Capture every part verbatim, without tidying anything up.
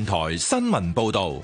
電台新聞報道。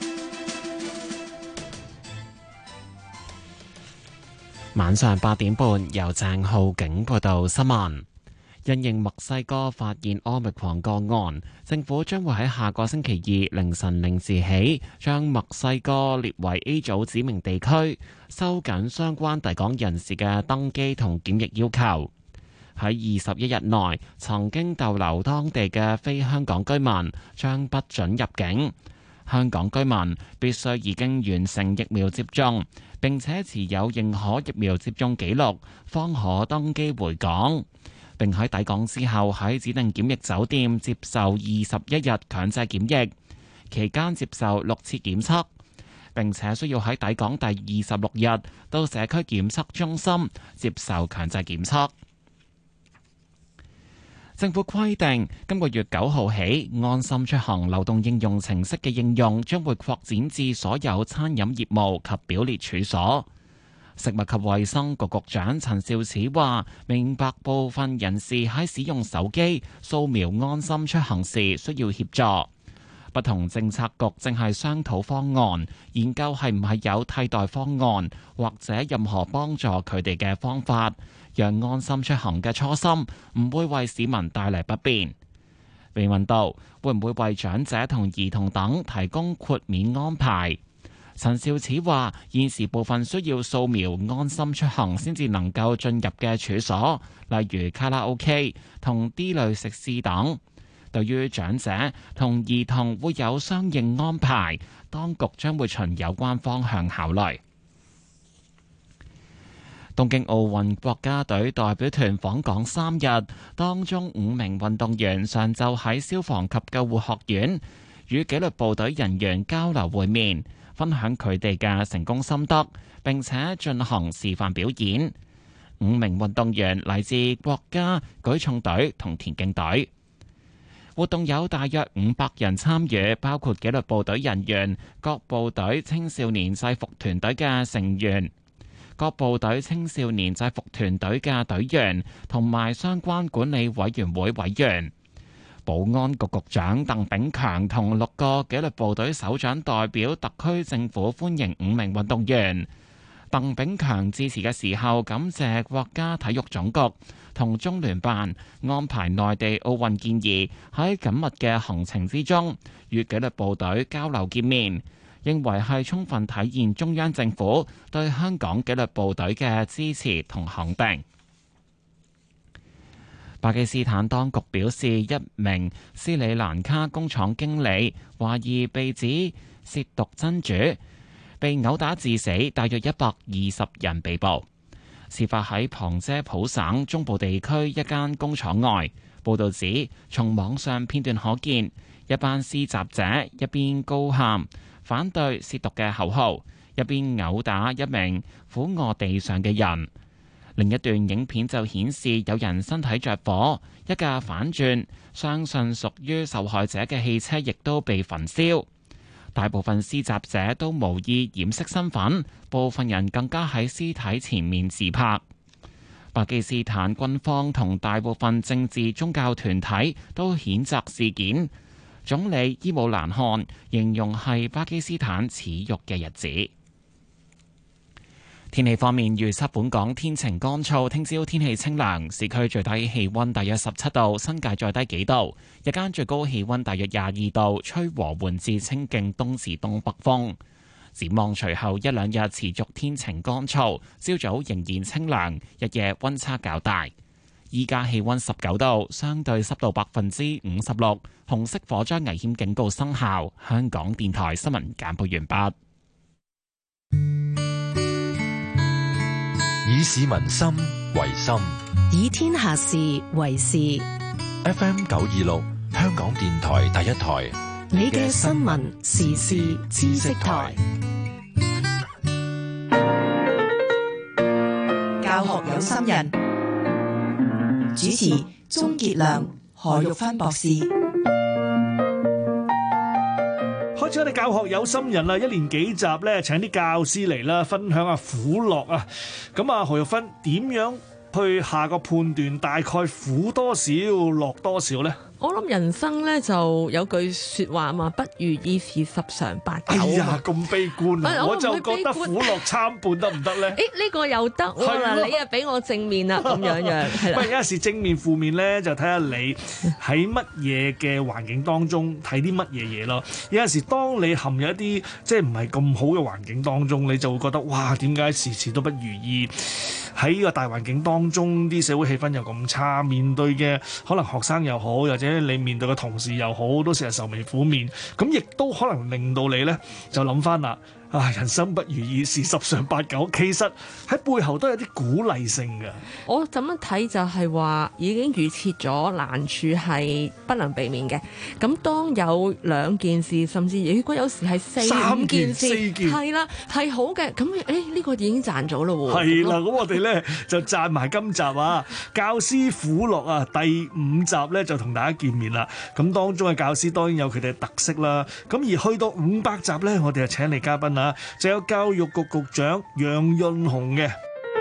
晚上八點半，由鄭浩景報道新聞。因應墨西哥發現奧密克戎個案，政府將會喺下個星期二凌晨零時起，將墨西哥列為 A 組指明地區，收緊相關抵港人士嘅登機同檢疫要求。喺二十一日內曾經逗留當地嘅非香港居民將不准入境。香港居民必須已經完成疫苗接種，並且持有認可疫苗接種記錄，方可登機回港。並喺抵港之後喺指定檢疫酒店接受二十一日強制檢疫，期間接受六次檢測，並且需要喺抵港第二十六日到社區檢測中心接受強制檢測。政府規定，今個月九號起，安心出行流動應用程式嘅應用將會擴展至所有餐飲業務及表列處所。食物及衛生局局長陳肇始話：明白部分人士喺使用手機掃描安心出行時需要協助，不同政策局正係商討方案，研究係唔係有替代方案或者任何幫助佢哋嘅方法，讓安心出行嘅初心唔會為市民帶嚟不便。被問到會唔會為長者同兒童等提供豁免安排，陳肇始話：現時部分需要掃描安心出行先至能夠進入嘅處所，例如卡拉 OK 同 D 類食肆等。對於長者同兒童會有相應安排，當局將會循有關方向考慮。東京奧運國家隊代表團訪港三日，當中五名運動員上晝喺消防及救護學院與紀律部隊人員交流會面，分享佢哋嘅成功心得，並且進行示範表演。五名運動員嚟自國家舉重隊同田徑隊。活動有大約五百人參與，包括紀律部隊人員、各部隊青少年制服團隊嘅成員、各部隊青少年制服團隊嘅隊員，同埋相關管理委員會委員。保安局局長鄧炳強同六個紀律部隊首長代表特區政府歡迎五名運動員。鄧炳強致辭嘅時候，感謝國家體育總局同中聯辦安排內地奧運健兒喺緊密嘅行程之中與紀律部隊交流見面，認為係充分體現中央政府對香港紀律部隊嘅支持同肯定。巴基斯坦當局表示，一名斯里蘭卡工廠經理懷疑被指褻瀆真主，被毆打致死，大約一百二十人被捕。事發喺旁遮普省中部地區一間工廠外。報導指，從網上片段可見，一班施襲者一邊高喊反對褻瀆嘅口號，一邊毆打一名俯臥地上嘅人。另一段影片就顯示有人身體着火，一架反轉相信屬於受害者嘅汽車亦都被焚燒。大部分施襲者都無意掩飾身份，部分人更加喺屍體前面自拍。巴基斯坦軍方同大部分政治宗教團體都譴責事件。總理伊姆蘭汗形容係巴基斯坦恥辱嘅日子。天氣方面，預測本港天晴乾燥，聽朝天氣清涼，市區最低氣溫大約十七度，新界再低幾度。日間最高氣溫大約廿二度，吹和緩至清勁東至東北風。展望隨後一兩日持續天晴乾燥，朝早仍然清涼，日夜溫差較大。依家氣溫十九度，相對濕度百分之五十六，紅色火災危險警告生效。香港電台新聞簡報完畢。 以市民心為心， 以天下事為事。 F M 九二六，香港電台第一台， 你嘅新聞時事知識台，教學有心人，主持鍾傑良、何玉芬博士。 開始我哋教學有心人啦，一連幾集咧，請啲教師嚟啦，分享下苦樂啊。咁啊，何玉芬點樣去下個判斷，大概苦多少，樂多少咧？ 我諗人生咧就有句説話嘛，不如意事十常八九。 哎呀，咁悲觀啊！ 我我就覺得苦樂參半得唔得咧？ 誒呢個又得喎係咯嗱，你啊俾我正面啦，咁樣樣係啦喂，。有陣時正面負面咧，就睇下你喺乜嘢嘅環境當中睇啲乜嘢嘢咯。有陣時當你陷入一啲即係唔係咁好嘅環境當中，你就會覺得哇，點解時時都不如意？喺呢個大環境當中，啲社會氣氛又咁差，面對嘅可能學生又好，或者你面對嘅同事又好，都成日愁眉苦面，咁亦都可能令到你呢就諗翻啦。啊！人生不如意事十常八九，其實喺背後都有啲鼓勵性嘅。 我咁樣睇就係話已經預設咗難處係不能避免嘅。咁當有兩件事，甚至如果有時係四三五件件四事， 件係啦，係好嘅。咁誒呢個已經賺咗咯喎。 係啦，咁我哋咧就讚埋今集啊，教師苦樂啊，第五集咧就同大家見面啦。咁當中嘅教師當然有佢哋嘅特色啦。咁而去到五百集咧，我哋就請嚟嘉賓啊，就有教育局局長楊潤雄嘅。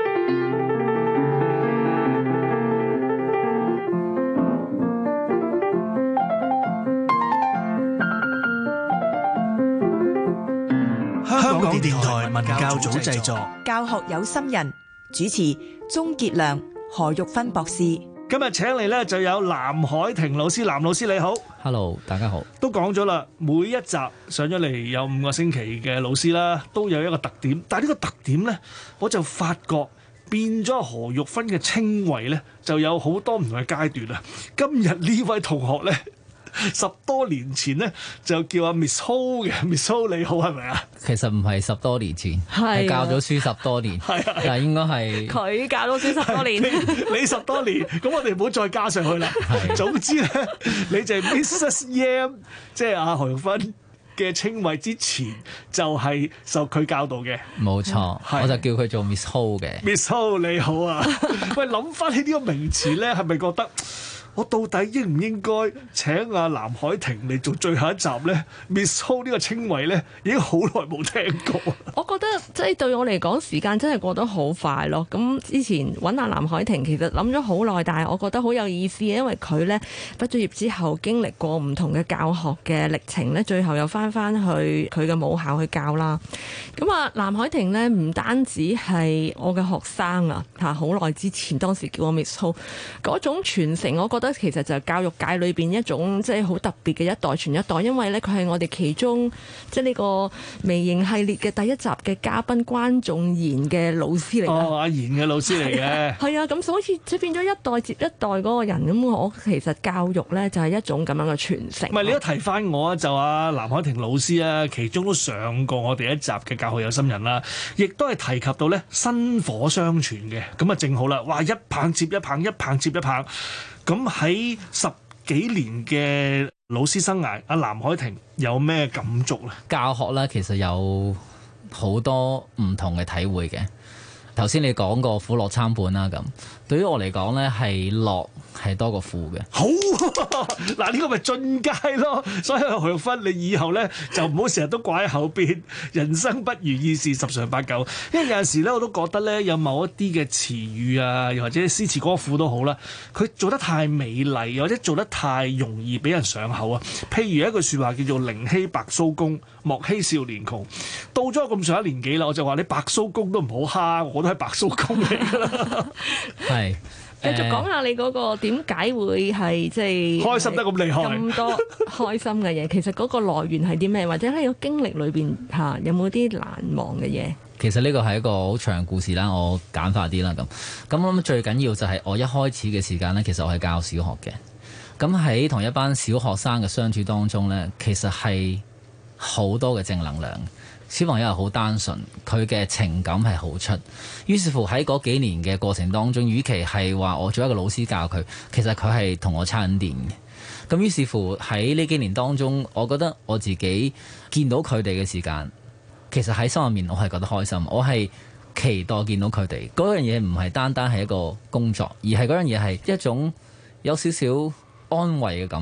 香港電台文教組製作， 教學有心人，主持鍾傑良、何玉芬博士。 今日請嚟咧就有藍海婷老師，藍老師你好。 Hello， 大家好。 都講咗啦，每一集上咗嚟有五個星期嘅老師啦，都有一個特點。但係呢個特點咧，我就發覺變咗何玉芬嘅稱謂咧，就有好多唔同嘅階段啊。今日呢位同學咧，十多年前咧就叫阿 Miss Ho 嘅 ，Miss Ho 你好係咪啊？ 其實唔係十多年前， 係係教咗書十多年， 係啊但係應該係佢教咗書十多年， 你你十多年，咁我哋唔好再加上去啦。 係總之咧，你就係 Missus Yam， 即係阿何玉芬嘅稱謂之前就係受佢教導嘅。 冇錯， 係我就叫佢做 Miss Ho 嘅。 Miss Ho 你好啊，喂，諗翻起呢個名詞咧，係咪覺得我到底應唔應該請阿藍海婷嚟做最後一集咧？Miss Ho 呢個稱謂咧，已經好耐冇聽過。 我覺得即係對我嚟講，時間真係過得好快咯。咁之前揾阿藍海婷，其實諗咗好耐，但係我覺得好有意思，因為佢呢畢咗業之後，經歷過唔同嘅教學嘅歷程呢，最後又翻翻去佢嘅母校去教啦。咁啊，藍海婷呢，唔單止係我嘅學生啊，嚇好耐之前當時叫我 Miss Ho 嗰種傳承，我覺得其實就係教育界裏邊一種即係好特別嘅一代傳一代，因為呢，佢係我哋其中即係呢個微型系列嘅第一集嘅嘉賓關仲賢嘅老師嚟㗎。 哦，阿賢嘅老師嚟嘅。 係啊，咁所以即係變咗一代接一代嗰個人咁，我其實教育咧就係一種咁樣嘅傳承。 唔係你都提翻我啊，就阿藍海婷老師啊，其中都上過我哋一集嘅教學有心人啦，亦都係提及到咧薪火相傳嘅，咁啊正好啦，哇一棒接一棒，一棒接一棒，咁喺十幾年嘅老師生涯，阿藍海婷有咩感觸咧？ 教學咧其實有好多唔同嘅體會嘅。頭先你講過苦樂參半啦，咁對於我嚟講咧係樂係多過苦嘅。 好嗱，呢個咪進階咯。所以何玉芬，你以後咧就唔好成日都掛喺後邊，人生不如意事十常八九。因為有陣時咧，我都覺得咧有某一啲嘅詞語啊，又或者詩詞歌賦都好啦，佢做得太美麗，又或者做得太容易俾人上口啊。譬如一句説話叫做寧欺白鬚公，莫欺少年窮。到咗咁上一年紀啦，我就話你白鬚公都唔好蝦，我都係白鬚公嚟㗎啦。 係。 繼續講下你嗰個點解會係即係開心得咁厲害咁多開心嘅嘢，其實嗰個來源係啲咩？或者喺個經歷裏邊嚇有冇啲難忘嘅嘢？ 其實呢個係一個好長故事啦，我簡化啲啦咁。咁我諗最緊要就係我一開始嘅時間呢，其實我係教小學嘅。咁喺同一班小學生嘅相處當中呢，其實係好多嘅正能量。小朋友係好單純，佢嘅情感係好出。於是乎喺嗰幾年嘅過程當中，與其係話我做一個老師教佢，其實佢係同我差緊電嘅。咁於是乎喺呢幾年當中，我覺得我自己見到佢哋嘅時間，其實喺心入面我係覺得開心，我係期待見到佢哋。嗰樣嘢唔係單單係一個工作，而係嗰樣嘢係一種有少少安慰嘅感覺。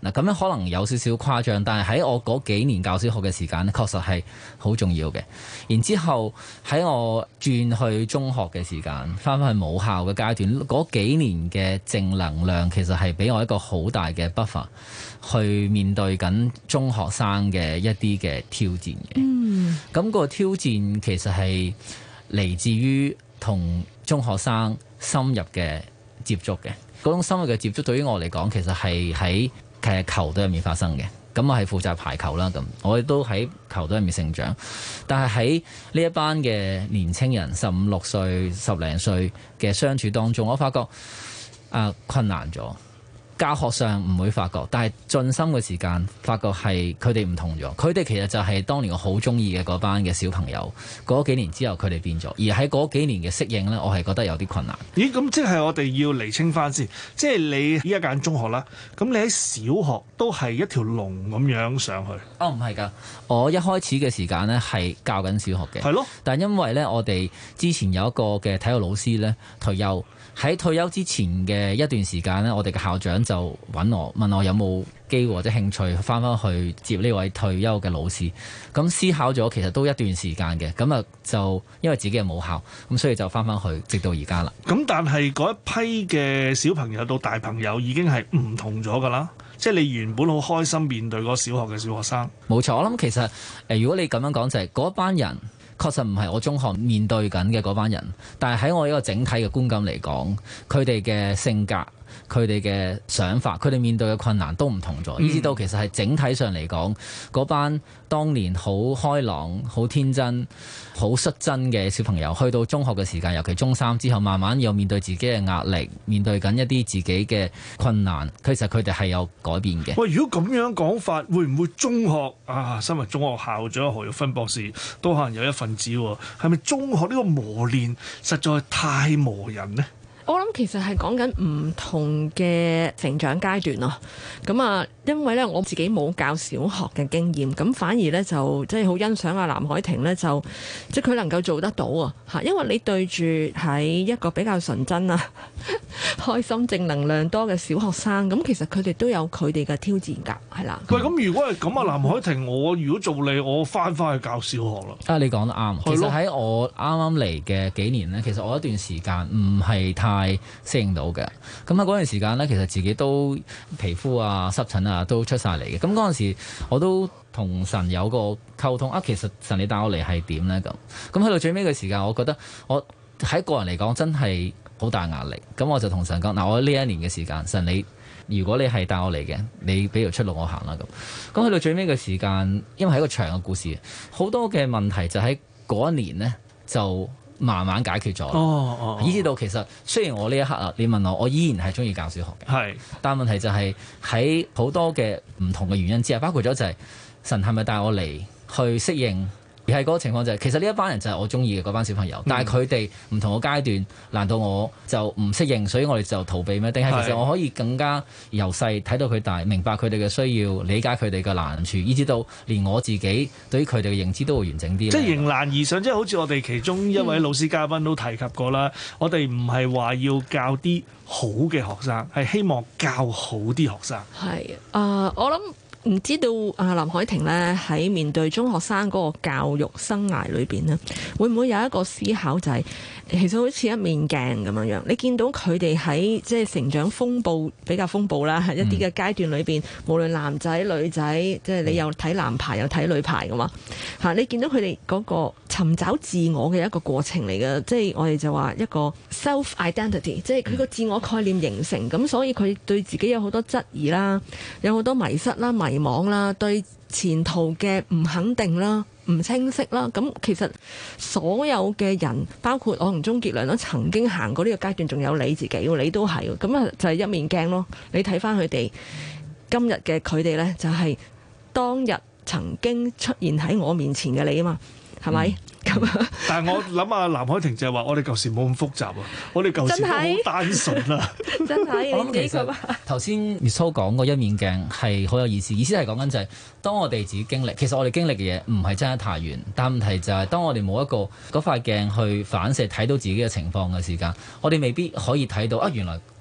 嗱，咁樣可能有少少誇張，但係喺我嗰幾年教小學嘅時間咧，確實係好重要嘅。然之後喺我轉去中學嘅時間，翻返去母校嘅階段，嗰幾年嘅正能量其實係俾我一個好大嘅 buffer 去面對緊中學生嘅一啲嘅挑戰嘅。嗯，咁個挑戰其實係嚟自於同中學生深入嘅接觸嘅。嗰種深入嘅接觸對於我嚟講，其實係喺其實球隊入面發生嘅。咁我係負責排球啦，咁我亦都喺球隊入面成長。但係喺呢一班嘅年青人，十五六歲、十零歲嘅相處當中，我發覺啊、呃、困難咗。教學上唔會發覺，但係進心嘅時間發覺係佢哋唔同咗。佢哋其實就係當年我好中意嘅嗰班嘅小朋友。嗰幾年之後佢哋變咗，而喺嗰幾年嘅適應呢，我係覺得有啲困難。 咦？咁即係我哋要釐清翻先，即係你依家揀中學啦，咁你喺小學都係一條龍咁樣上去？ 哦，唔係㗎，我一開始嘅時間呢係教緊小學嘅。 係咯。 但因為呢，我哋之前有一個嘅體育老師呢退休。喺退休之前嘅一段時間呢，我哋嘅校長就揾我問我有冇機會或者興趣翻返去接呢位退休嘅老師。咁思考咗其實都一段時間嘅，咁啊就因為自己係母校，咁所以就翻返去，直到而家啦。 咁但係嗰一批嘅小朋友到大朋友已經係唔同咗㗎啦，即係你原本好開心面對嗰小學嘅小學生。 冇錯，我諗其實誒，如果你咁樣講就係嗰班人。確實唔係我中學面對緊嘅嗰班人，但係喺我一個整體嘅觀感嚟講，佢哋嘅性格、佢哋嘅想法、佢哋面對嘅困難都唔同咗，以至到其實係整體上嚟講，嗰班當年好開朗、好天真、好率真嘅小朋友，去到中學嘅時間，尤其中三之後，慢慢又面對自己嘅壓力，面對緊一啲自己嘅困難，其實佢哋係有改變嘅。 喂，如果咁樣講法，會唔會中學啊？身為中學校長何玉芬博士都可能有一份子喎，係咪中學呢個磨練實在太磨人呢？ 我諗其實係講緊唔同嘅成長階段咯。咁啊，因為咧我自己冇教小學嘅經驗，咁反而咧就即係好欣賞阿藍海婷咧，就即係佢能夠做得到啊嚇。因為你對住喺一個比較純真啊、開心、正能量多嘅小學生，咁其實佢哋都有佢哋嘅挑戰㗎，係啦。 喂，咁如果係咁啊，藍海婷，我如果做你，我翻返去教小學啦。 啊，你講得啱。其實喺我啱啱嚟嘅幾年咧，其實我一段時間唔係太係適應到嘅，咁喺嗰段時間呢，其實自己都皮膚啊、濕疹啊都出晒嚟嘅。咁嗰陣時，我都同神有個溝通啊。其實神你帶我嚟係點呢？咁咁去到最尾嘅時間，我覺得我喺個人嚟講真係好大壓力。咁我就同神講：嗱，我呢一年嘅時間，神你如果你係帶我嚟嘅，你俾條出路我行啦。咁咁去到最尾嘅時間，因為係一個長嘅故事，好多嘅問題就喺嗰一年呢就慢慢解決咗， 哦哦， 以至到其實雖然我呢一刻啊，你問我，我依然係中意教小學嘅， 係， 但問題就係喺好多嘅唔同嘅原因之下，包括咗就係神係咪帶我嚟去適應，而係嗰個情況就係、是、其實呢一班人就係我中意嘅嗰班小朋友，但係佢哋唔同嘅階段，難道我就唔適應，所以我哋就逃避咩？定係其實我可以更加由細睇到佢大，明白佢哋嘅需要，理解佢哋嘅難處，以至到連我自己對於佢哋嘅認知都會完整啲。即係迎難而上，即係好似我哋其中一位老師嘉賓都提及過啦。嗯、我哋唔係話要教啲好嘅學生，係希望教好啲學生。係啊、呃，我諗。唔知道啊，藍海婷咧喺面對中學生嗰個教育生涯裏邊咧，會唔會有一個思考就係、是、其實好似一面鏡咁樣樣，你見到佢哋喺即係成長風暴比較風暴啦，一啲嘅階段裏邊，嗯、無論男仔女仔，即係你又睇男排又睇女排噶嘛嚇，你見到佢哋嗰個尋找自我嘅一個過程嚟嘅，即係我哋就話一個 self identity，即係佢個自我概念形成，咁、嗯、所以佢對自己有好多質疑啦，有好多迷失啦、迷網啦，對前途嘅唔肯定啦、唔清晰啦，咁其實所有嘅人，包括我同鍾傑良都曾經行過呢個階段，仲有你自己，你都係，咁啊就係一面鏡咯。你睇翻佢哋今日嘅佢哋呢，就係當日曾經出現喺我面前嘅你啊嘛，係咪？嗯但係我諗下藍海婷就係話：我哋舊時冇咁複雜啊，我哋舊時都好單純啊。 真係， 我諗其實頭先 Miss Ho 講嗰一面鏡係好有意思，意思係講緊就係當我哋自己經歷，其實我哋經歷嘅嘢唔係真係太遠，但問題就係當我哋冇一個嗰塊鏡去反射睇到自己嘅情況嘅時間，我哋未必可以睇到啊原來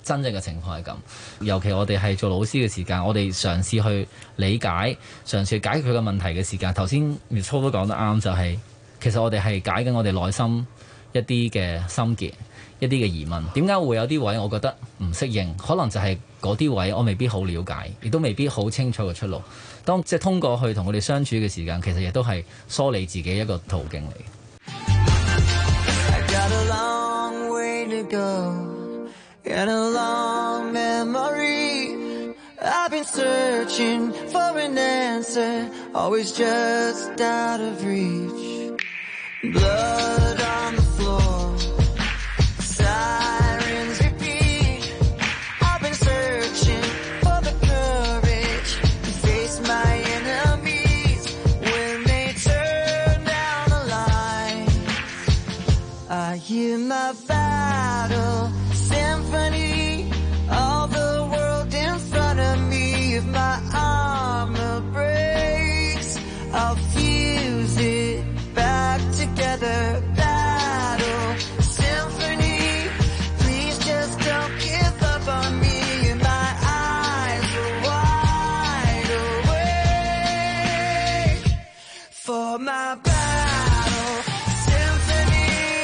真正嘅情況係咁。尤其我哋係做老師嘅時間，我哋嘗試去理解、嘗試去解決佢嘅問題嘅時間。頭先 Miss Ho 都講得啱，就係、是、其實我哋係解緊我哋內心一啲嘅心結、一啲嘅疑問。點解會有啲位我覺得唔適應？可能就係嗰啲位我未必好了解，亦都未必好清楚嘅出路。當即係通過去同佢哋相處嘅時間，其實亦都係梳理自己一個途徑嚟。 And a long memory, I've been searching for an answer, always just out of reach. Blood on the floor, sirens repeat. I've been searching for the courage to face my enemies when they turn down the lights. I hear my battle symphony, all the world in front of me. If my armor breaks, I'll fuse it back together. Battle symphony, please just don't give up on me. And my eyes are wide awake for my battle symphony.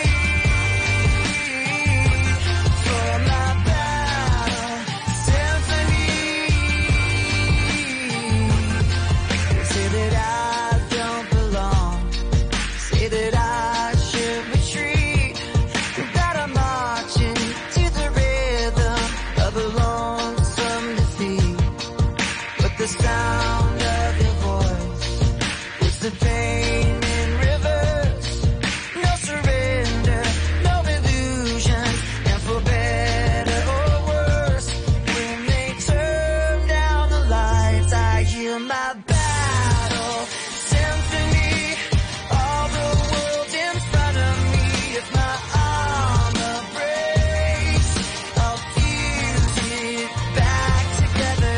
The sound of your voice is the pain in reverse. No surrender, no illusions, and for better or worse, when they turn down the lights, I hear my battle symphony. All the world in front of me. If my armor breaks, I'll fuse it back together.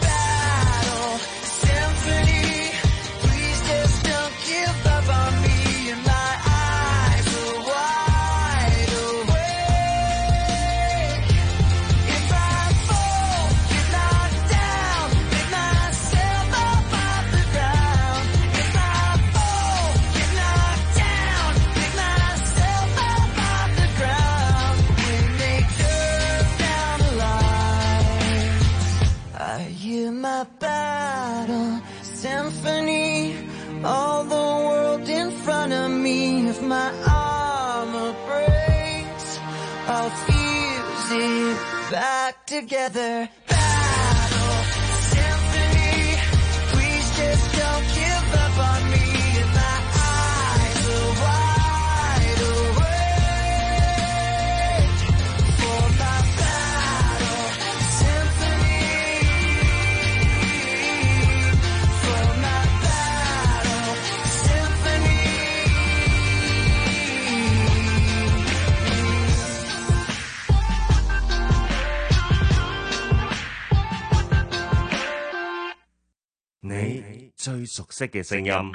My battle symphony, all the world in front of me. If my armor breaks, I'll fuse it back together. Battle symphony, please just don't give up on me. And my eyes are wide awake for my battle symphony. 你最熟悉嘅聲音。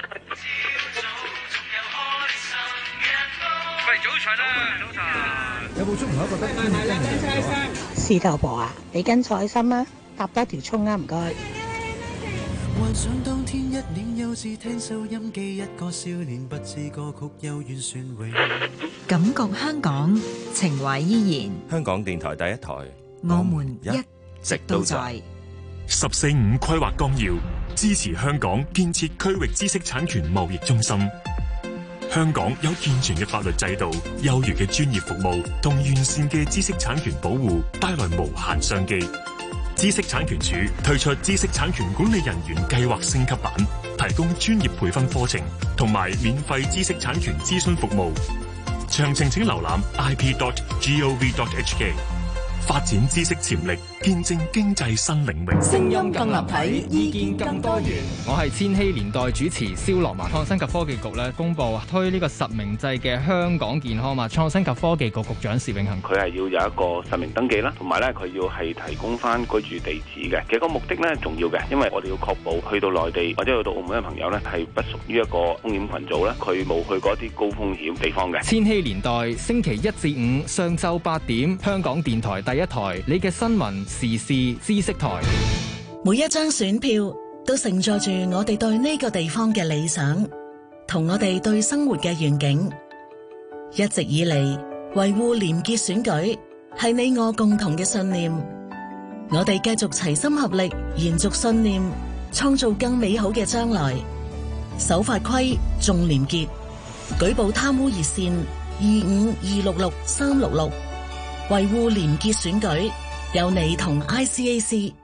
喂，早晨啊，早晨。 有冇中午覺得天氣真係涼咗？ 事頭婆啊，你跟菜心啊，搭多條葱啊，唔該。 幻想當天一臉幼稚，聽收音機，一個少年不知歌曲幽怨旋永。 感覺香港，情懷依然。 香港電台第一台， 我們一直都在。 十四五規劃綱要支持香港建設區域知識產權貿易中心。香港有健全嘅法律制度、優越嘅專業服務同完善嘅知識產權保護，帶來無限商機。知識產權署推出知識產權管理人員計劃升級版，提供專業培訓課程同埋免費知識產權諮詢服務。詳情請瀏覽 i p dot gov dot h k。發展知識潛力， 見證經濟新領域。 聲音更立體，意見更多元。 我係千禧年代主持蕭樂文。創新及科技局咧公布推呢個實名制嘅香港健康碼。創新及科技局局長薛永恒， 佢係要有一個實名登記啦，同埋咧佢要係提供翻居住地址嘅。其實個目的咧重要嘅，因為我哋要確保去到內地或者去到澳門嘅朋友咧係不屬於一個風險群組咧，佢冇去過一啲高風險地方嘅。 千禧年代星期一至五上晝八點，香港電台第一台，你嘅新聞時事知識台。 每一張選票都承載住我哋對呢個地方嘅理想，同我哋對生活嘅願景。一直以嚟，維護廉潔選舉係你我共同嘅信念。我哋繼續齊心合力，延續信念，創造更美好嘅將來。守法規，重廉潔，舉報貪污熱線二五二六六三六六，維護廉潔選舉，有你同 I C A C。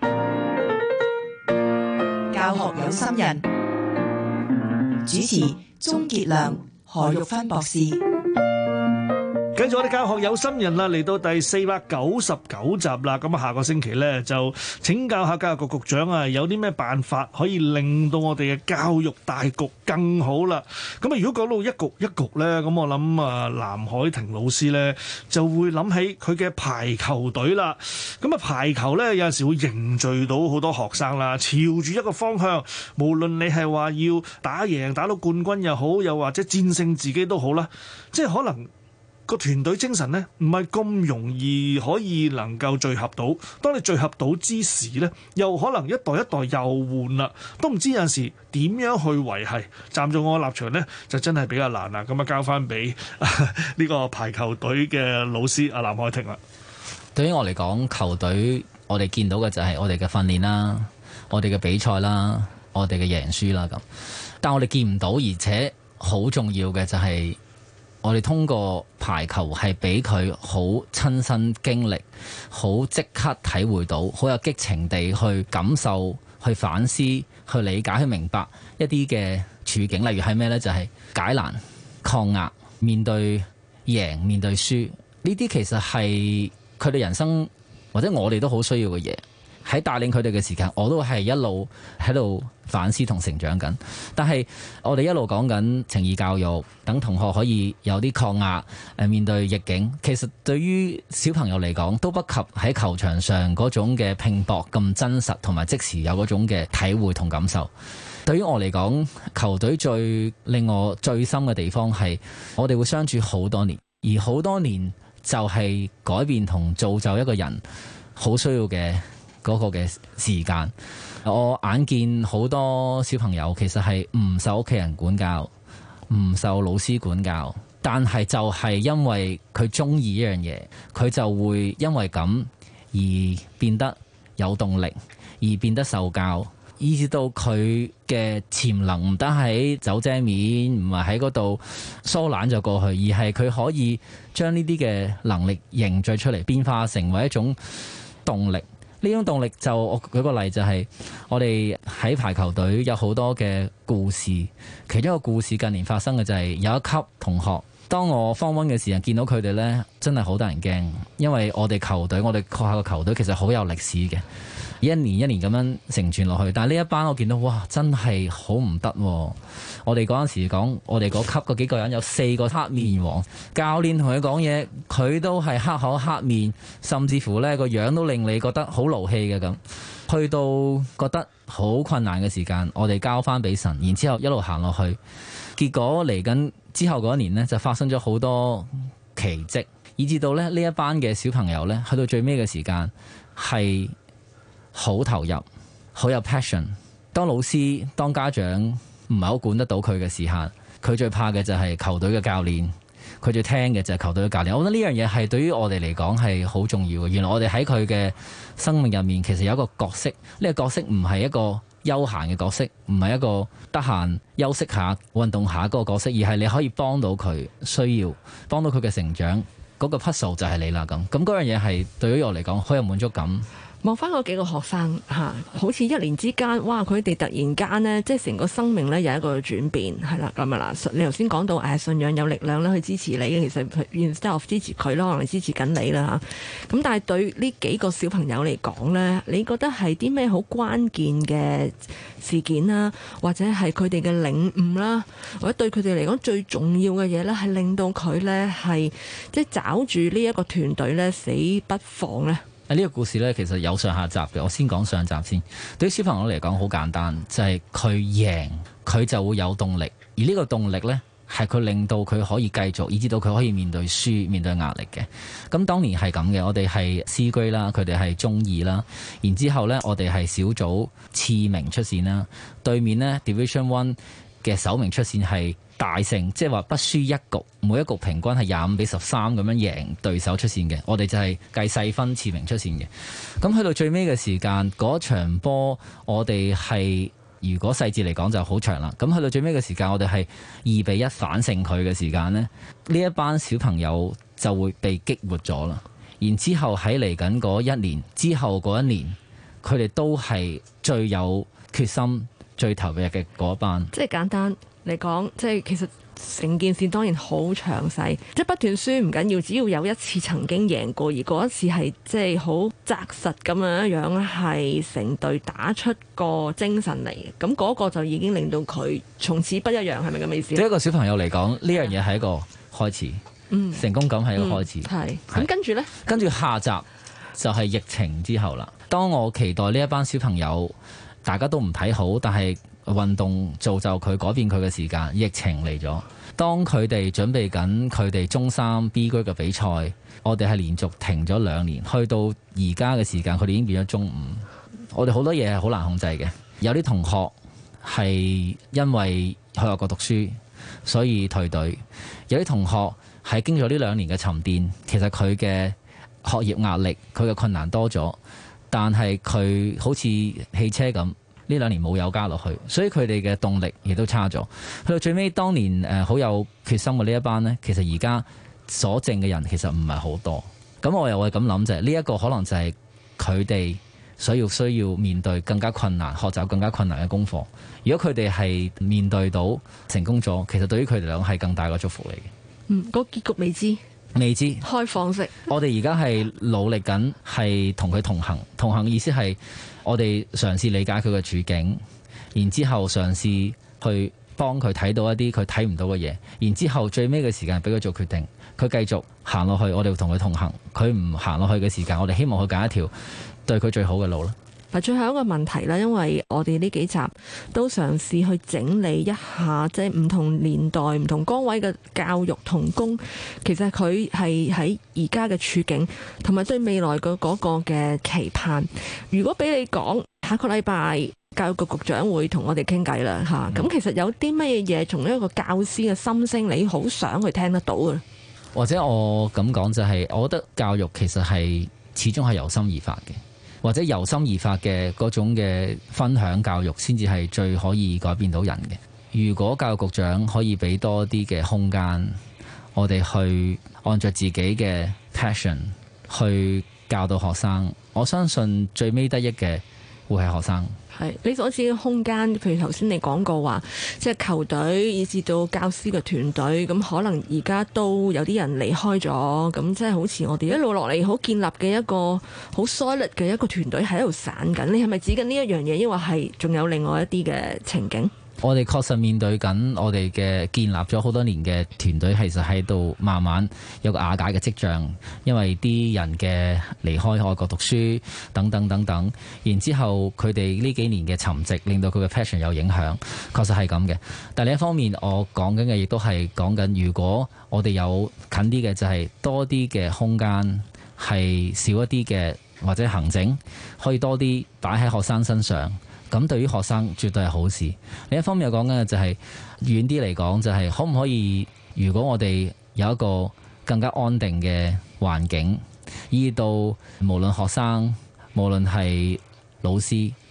教學有心人，主持鍾傑良、何玉芬博士。 繼續我哋教學有心人啦，嚟到第四百九十九集啦。咁啊，下個星期咧就請教下教育局局長啊，有啲咩辦法可以令到我哋嘅教育大局更好啦？咁啊，如果講到一局一局咧，咁我諗啊，藍海婷老師咧就會諗起佢嘅排球隊啦。咁啊，排球咧有陣時會凝聚到好多學生啦，朝住一個方向，無論你係話要打贏打到冠軍又好，又或者戰勝自己都好啦，即係可能個團隊精神咧，唔係咁容易可以能夠聚合到。當你聚合到之時咧，又可能一代一代又換啦，都唔知有陣時點樣去維繫。站在我嘅立場咧，就真係比較難啦。咁啊，交翻俾呢個排球隊嘅老師阿藍海婷啦。 對於我嚟講，球隊我哋見到嘅就係我哋嘅訓練啦，我哋嘅比賽啦，我哋嘅贏輸啦咁。但我哋見唔到，而且好重要嘅就係、是。我哋通過排球係俾佢好親身經歷，好即刻體會到，好有激情地去感受、去反思、去理解、去明白一啲嘅處境。例如係咩呢？就係、是、解難、抗壓、面對贏、面對輸。呢啲其實係佢哋人生或者我哋都好需要嘅嘢。喺帶領佢哋嘅時間，我都係一路喺度反思同成長緊。但係我哋一路講緊情義教育，等同學可以有啲抗壓，誒面對逆境。其實對於小朋友嚟講，都不及喺球場上嗰種嘅拼搏咁真實，同埋即時有嗰種嘅體會同感受。對於我嚟講，球隊最令我最深嘅地方係，我哋會相處好多年，而好多年就係改變同造就一個人好需要嘅嗰個嘅時間。我眼見好多小朋友其實係唔受屋企人管教，唔受老師管教，但係就係因為佢中意一樣嘢，佢就會因為咁而變得有動力，而變得受教，以至到佢嘅潛能唔得喺走遮面，唔係喺嗰度疏懶就過去，而係佢可以將呢啲嘅能力凝聚出嚟，變化成為一種動力。呢種動力就我舉個例，就係我哋喺排球隊有好多嘅故事，其中一個故事近年發生嘅就係有一級同學，當我 Form One 嘅時候見到佢哋呢，真係好得人驚，因為我哋球隊，我哋學校嘅球隊其實好有歷史嘅，一年一年咁樣承傳落去。但係呢一班我見到，哇，真係好唔得。我哋嗰陣時講，我哋嗰級嗰幾個人有四個黑面王，教練同佢講嘢，佢都係黑口黑面，甚至乎呢個樣都令你覺得好勞氣嘅咁。去到覺得好困難嘅時間，我哋交翻俾神，然之後一路行落去。結果嚟緊之後嗰一年呢，就發生咗好多奇蹟，以至到咧呢一班嘅小朋友呢，去到最尾嘅時間係好投入，好有 passion。當老師、當家長唔係好管得到佢嘅時間，佢最怕嘅就係球隊嘅教練，佢最聽嘅就係球隊嘅教練。我覺得呢樣嘢係對於我哋嚟講係好重要嘅。原來我哋喺佢嘅生命入面，其實有一個角色，呢個角色唔係一個休閒嘅角色，唔係一個得閒休息下、運動下嗰個角色，而係你可以幫到佢需要，幫到佢嘅成長，嗰個 puzzle 就係你啦咁。咁嗰樣嘢係對於我嚟講好有滿足感。 望翻嗰幾個學生嚇，好似一年之間，哇！佢哋突然間呢，即係成個生命呢有一個轉變，係啦咁啊嗱。你頭先講到誒信仰有力量咧去支持你，其實 instead of 支持佢咯，可能支持緊你啦嚇。咁但係對呢幾個小朋友嚟講呢，你覺得係啲咩好關鍵嘅事件啦，或者係佢哋嘅領悟啦，或者對佢哋嚟講最重要嘅嘢呢，係令到佢呢係即係抓住呢一個團隊呢死不放呢？ 呢個故事呢，其實有上下集嘅。我先講上集先。對於小朋友嚟講，好簡單，就係佢贏，佢就會有動力。而呢個動力呢，係佢令到佢可以繼續，以至到佢可以面對輸、面對壓力嘅。咁當年係咁嘅，我哋係 C grade 啦，佢哋係中二啦。然之後呢，我哋係小組次名出線啦。對面呢 Division One 嘅首名出線係大勝，即係話不輸一局，每一局平均係廿五比十三咁樣贏對手出線嘅。我哋就係計細分次名出線嘅。咁去到最尾嘅時間，嗰場波我哋係如果細節嚟講就好長啦。咁去到最尾嘅時間，我哋係二比一反勝佢嘅時間呢，呢一班小朋友就會被激活咗啦。然之後喺嚟緊嗰一年之後嗰一年，佢哋都係最有決心、最投入嘅嗰一班。 即係簡單嚟講，即係其實成件事當然好詳細，即係不斷輸唔緊要，只要有一次曾經贏過，而嗰一次係即係好紮實咁樣樣，係成隊打出個精神嚟嘅，咁嗰個就已經令到佢從此不一樣，係咪咁嘅意思？ 對一個小朋友嚟講，呢樣嘢係一個開始， 嗯， 成功感係一個開始。 係、嗯，咁跟住呢？ 跟住下集就係疫情之後啦。當我期待呢一班小朋友，大家都唔睇好，但係運動造就佢改變佢嘅時間，疫情嚟咗。當佢哋準備緊佢哋中三 B 區嘅比賽，我哋係連續停咗兩年，去到而家嘅時間，佢哋已經變咗中五。我哋好多嘢係好難控制嘅。有啲同學係因為去外國讀書，所以退隊；有啲同學係經咗呢兩年嘅沉澱，其實佢嘅學業壓力、佢嘅困難多咗，但係佢好似汽車咁。呢兩年冇油加落去，所以佢哋嘅動力亦都差咗。去到最尾，當年誒好有決心嘅呢一班呢，其實而家所剩嘅人其實唔係好多。咁我又會咁諗就係呢一個可能就係佢哋所要需要面對更加困難、學習更加困難嘅功課。如果佢哋係面對到成功咗，其實對於佢哋嚟講係更大嘅祝福嚟嘅。 嗯，個結局未知。 未知開放式。 我哋而家係努力緊，係同佢同行。同行意思係我哋嘗試理解佢嘅處境，然之後嘗試去幫佢睇到一啲佢睇唔到嘅嘢，然之後最尾嘅時間俾佢做決定。佢繼續行落去，我哋會同佢同行。佢唔行落去嘅時間，我哋希望佢揀一條對佢最好嘅路啦。 嗱，最後一個問題啦，因為我哋呢幾集都嘗試去整理一下，即係唔同年代、唔同崗位嘅教育同工，其實佢係喺而家嘅處境，同埋對未來嘅嗰個嘅期盼。如果俾你講，下個禮拜教育局局長會同我哋傾偈啦，嚇、嗯。咁其實有啲乜嘢嘢，從一個教師嘅心聲，你好想去聽得到嘅？ 或者我咁講就係、是，我覺得教育其實係始終係由心而發嘅。或者由心而發嘅嗰種嘅分享教育，先至係最可以改變到人嘅。如果教育局長可以俾多啲嘅空間，我哋去按照自己嘅 passion 去教導學生，我相信最尾得益嘅會係學生。 係你所指嘅空間，譬如頭先你講過話，即係球隊以至到教師嘅團隊，咁可能而家都有啲人離開咗，咁即係好似我哋一路落嚟好建立嘅一個好 solid 嘅一個團隊喺度散緊。你係咪指緊呢一樣嘢，抑或係仲有另外一啲嘅情景？ 我哋確實面對緊我哋嘅建立咗好多年嘅團隊，其實喺度慢慢有個瓦解嘅跡象，因為啲人嘅離開外國讀書等等等等，然之後佢哋呢幾年嘅沉寂，令到佢嘅 passion 有影響，確實係咁嘅。但另一方面，我講緊嘅亦都係講緊，如果我哋有近啲嘅，就係多啲嘅空間，係少一啲嘅或者行政，可以多啲擺喺學生身上。咁對於學生絕對係好事。另一方面又講緊嘅就係遠啲嚟講，就係可唔可以，如果我哋有一個更加安定嘅環境，以到無論學生無論係老師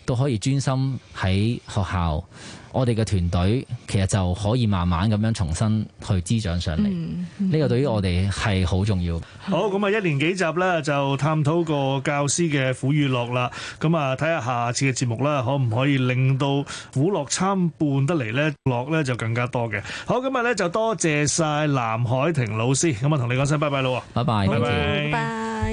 都可以專心喺學校，我哋嘅團隊其實就可以慢慢咁樣重新去滋長上嚟。呢、嗯、個對於我哋係好重要。 好，咁啊，一連幾集咧就探討個教師嘅苦與樂啦。咁啊，睇下下次嘅節目啦，可唔可以令到苦樂參半得嚟咧？樂咧就更加多嘅。好，今日咧就多謝晒藍海婷老師。咁啊，同你講聲拜拜咯。 拜拜， 拜拜， 拜拜。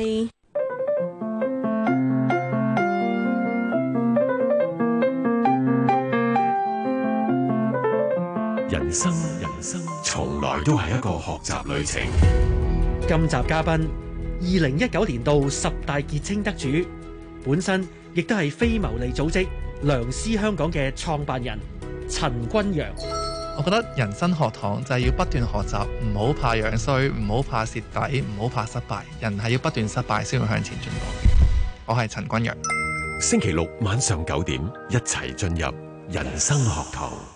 人生人生從來都係一個學習旅程。 今集嘉賓，二零一九年度十大傑青得主，本身亦都係非牟利組織良師香港嘅創辦人陳君陽。 我覺得人生學堂就係要不斷學習，唔好怕樣衰，唔好怕蝕底，唔好怕失敗。人係要不斷失敗先會向前進步。我係陳君陽。 星期六晚上九點，一齊進入人生學堂。